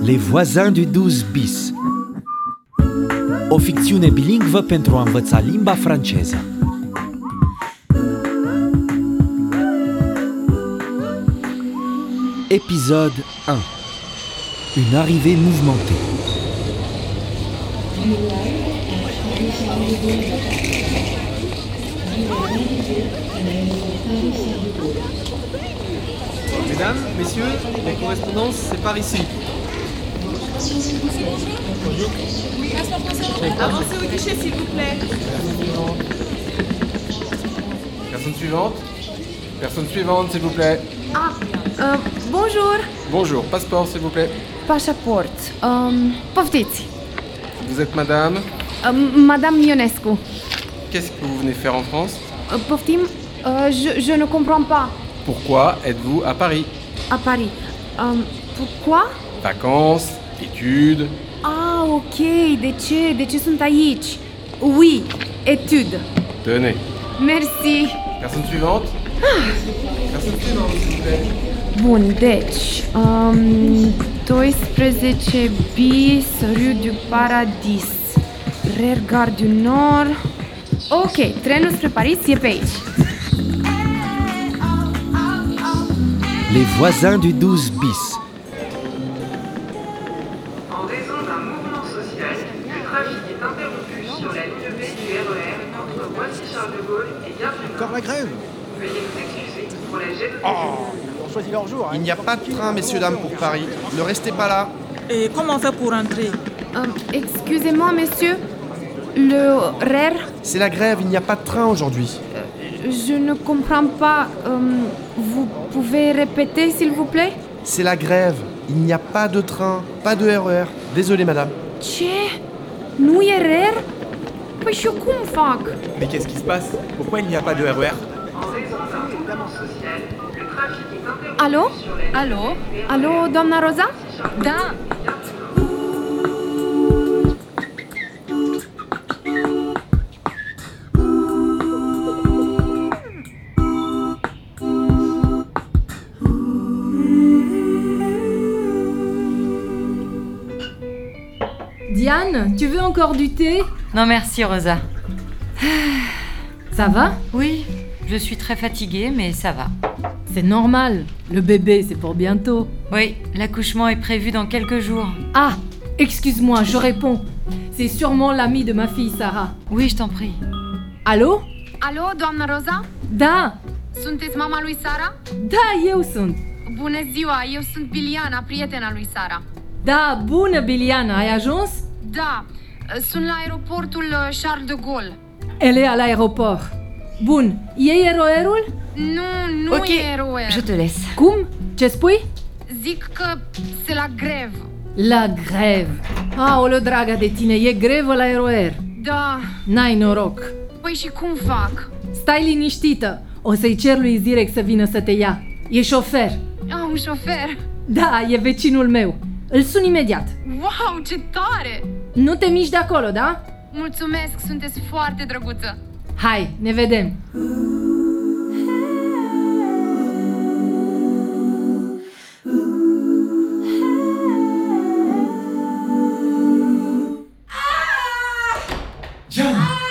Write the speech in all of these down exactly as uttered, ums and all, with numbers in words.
Les voisins du douze bis. O ficțiune bilingvă pentru a învăța limba franceză. Épisode un. Une arrivée mouvementée. Mesdames, messieurs, les correspondances, c'est par ici. Avancez au guichet, s'il vous plaît. Personne suivante. Personne suivante, s'il vous plaît. Ah, uh, bonjour. Bonjour, passeport, s'il vous plaît. Pașaport. Um, poftiți. Vous êtes madame. Um, Madame Ionescu. Qu'est-ce que vous venez faire en France? Uh, poftim? Uh, je, je ne comprends pas. Pourquoi êtes-vous à Paris? À Paris. Um, pourquoi? Vacances, études. Ah, ok. De ce? De ce sunt aici? Oui, études. Tenez. Merci. Personne suivante. Personne suivante, s'il vous plaît. Bun, deci, um, doisprezece bis, Rue du Paradis, Rear Gare du Nord. Ok, trenul spre Paris e pe aici. Les voisins du douze bis. En raison d'un mouvement social, le trafic est interrompu sur la ligne B du R E R entre Roissy-Charles de Gaulle et Gare du Nord. Encore la grève? Veuillez vous excuser pour la gêne. Oh, ils ont choisi leur jour. Hein. Il n'y a pas de train, messieurs, dames, pour Paris. Ne restez pas là. Et comment on fait pour entrer? Um, excusez-moi, monsieur, le R E R, C'est la grève, il n'y a pas de train aujourd'hui. je ne comprends pas. Um, vous pouvez répéter, s'il vous plaît? C'est la grève, il n'y a pas de train, pas de R E R. Désolé, madame. Ce? Nu e R E R? Păi și eu cum fac? Mais qu'est-ce qui se passe? Pourquoi il n'y a pas de R E R? En raison d'un mouvement social, le trafic est interrompu Alo? sur la ligne Alo? B du R E R Alo, doamna Roza? Da. Diane, tu veux encore du thé? Non merci Rosa. Ça va? Oui, je suis très fatiguée mais ça va. C'est normal, le bébé c'est pour bientôt. Oui, l'accouchement est prévu dans quelques jours. Ah, excuse-moi, je réponds. C'est sûrement l'ami de ma fille Sarah. Oui, je t'en prie. Allô? Alo, doamna Roza? Da, Sunteți mama lui Sara? da, eu sunt. Bună ziua, eu sunt Biliana, prietena lui Sara. Da, bună Biliana, ai ajuns? Da, sunt la aeroportul Charles de Gaulle. Elle est à l'aéroport. Bun, iei eroerul? Nu, nu Ok, e R O R. je te laisse. Cum? Ce spui? Zic că se la grevă. La grève. Aoleo, draga de tine, e grevă la R O R. Da, N-ai noroc. păi și cum fac? Stai liniștită. O să-i cer lui Zirek să vină să te ia. E șofer. Am un șofer. Da, e vecinul meu. Îl sun imediat. Wow, ce tare! Nu te miști de acolo, da? Mulțumesc, sunteți foarte drăguță. Hai, ne vedem. Diane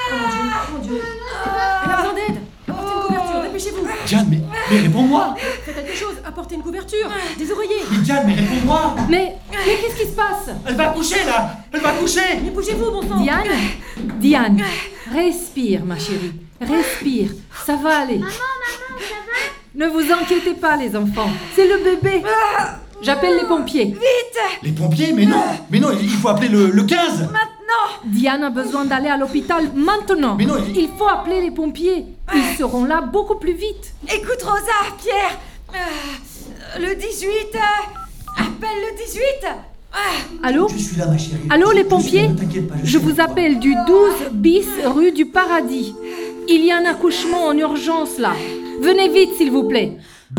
Elle a besoin d'aide. Apportez une couverture, dépêchez-vous. Diane, mais, mais réponds-moi. Faites quelque chose, apportez une couverture. Des oreillers. Mais Diane, mais réponds-moi. Mais, mais qu'est-ce qui se passe? Elle va coucher, là. Elle va coucher. Mais bougez-vous, bon sang. Diane? Diane, respire, ma chérie. Respire, ça va aller. Maman, maman, ça va? Ne vous inquiétez pas, les enfants. C'est le bébé. J'appelle les pompiers. Les pompiers? Mais non. Mais non, il faut appeler le, le quinze. Diane a besoin d'aller à l'hôpital maintenant. Mais non, il- Il faut appeler les pompiers. Ils seront là beaucoup plus vite. Écoute Rosa, Pierre. euh, le dix-huit. euh, appelle le dix-huit. Allô? Je suis là, ma chérie. Allô, les Je suis là, pompiers? ne t'inquiète pas, Je suis vous avec toi. appelle du douze bis rue du Paradis. Il y a un accouchement en urgence là. Venez vite, s'il vous plaît.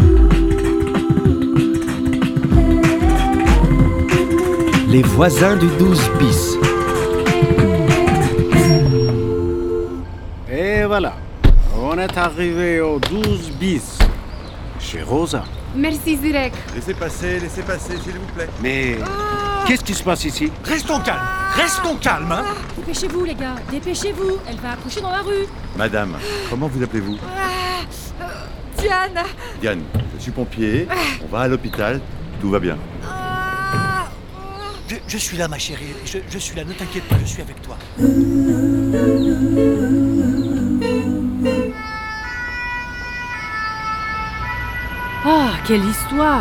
Les voisins du douze bis. Et voilà, on est arrivé au douze bis, chez Rosa. Merci, Zirek. Laissez passer, laissez passer, s'il vous plaît. Mais Qu'est-ce qui se passe ici? Restons calmes, restons calmes, hein. Dépêchez-vous, les gars, dépêchez-vous. Elle va accoucher dans la rue. Madame, comment vous appelez-vous? Ah, euh, Diane. Diane, je suis pompier, on va à l'hôpital, tout va bien. Ah, Je, je suis là, ma chérie, je, je suis là, ne t'inquiète pas, je suis avec toi. Ah, quelle histoire!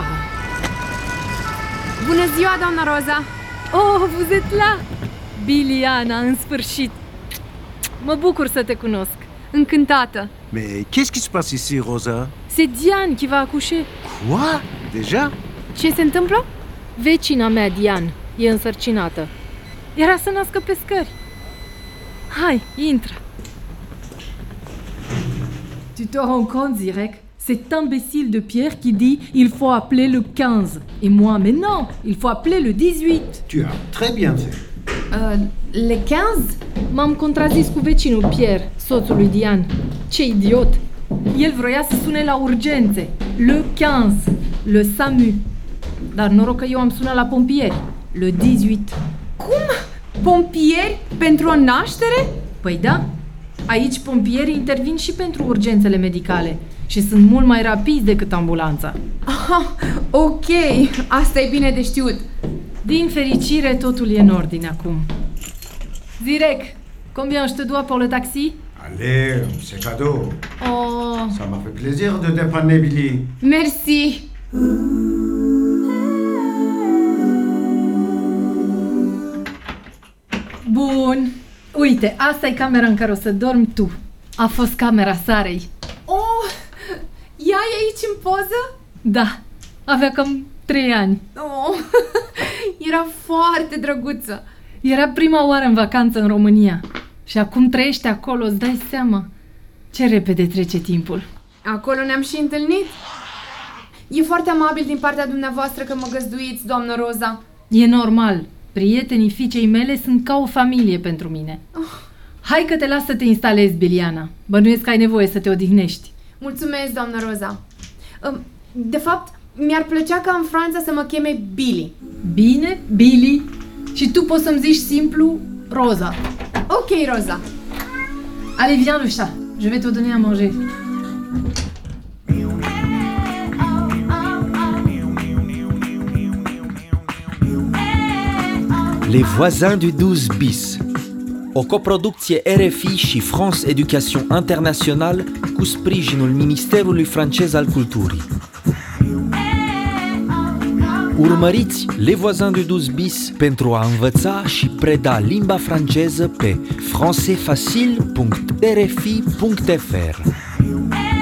Bună ziua, doamna Roza! Oh, vous êtes là! Biliana, în sfârșit! Mă bucur să te cunosc. Încântată! Mais qu'est-ce qui se passe ici, Rosa? C'est Diane qui va accoucher. Quoi? Déjà? Ce se întâmplă? Vecina mea, Diane, e însărcinată. Era să nască pe scări. Hai, intră! Tu te rends compte, Zirek? Cet imbécile de Pierre qui dit il faut appeler le quinze. Et moi, mais non, il faut appeler le dix-huit. Tu as très bien fait. Uh, le quinze? M-am contrazis cu vecinul Pierre, soțul lui Diane. Ce idiot! El vroia să sune la urgențe. Le quinze. Le S A M U. Dar noroc că eu am sunat la pompieri. Le dix-huit. Cum? Pompieri? Pentru o naștere? Păi da. Aici pompierii intervin și pentru urgențele medicale. Și sunt mult mai rapizi decât ambulanța. Aha, ok, asta e bine de știut. Din fericire, totul e în ordine acum. Zirek, combien je te dois pour le taxi? Allez, c'est cadeau. Oh. Ça m'a fait plaisir de dépanner Billy. Merci. Bun. Uite, asta e camera în care o să dormi tu. A fost camera Sarei. Oh, ea e aici în poză? Da, avea cam trei ani. Oh, era foarte drăguță. Era prima oară în vacanță în România. Și acum trăiește acolo, îți dai seama. Ce repede trece timpul. Acolo ne-am și întâlnit. E foarte amabil din partea dumneavoastră că mă găzduiți, doamnă Roza. E normal. Prietenii fiicei mele sunt ca o familie pentru mine. Oh. Hai că te las să te instalezi, Biliana. Bănuiesc că ai nevoie să te odihnești. Mulțumesc, doamnă Roza. De fapt, mi-ar plăcea ca în Franța să mă cheme Billy. Bine, Billy. Și tu poți să-mi zici simplu Roza. Ok, Roza. Allez, viens le chat. Je vais te donner à manger. Les voisins du douze bis. O coproducție R F I și France Education International cu sprijinul Ministerului francez al Culturii. Urmăriți Les voisins du douze bis pentru a învăța și preda limba franceză pe françaisfacile punct r f i punct f r.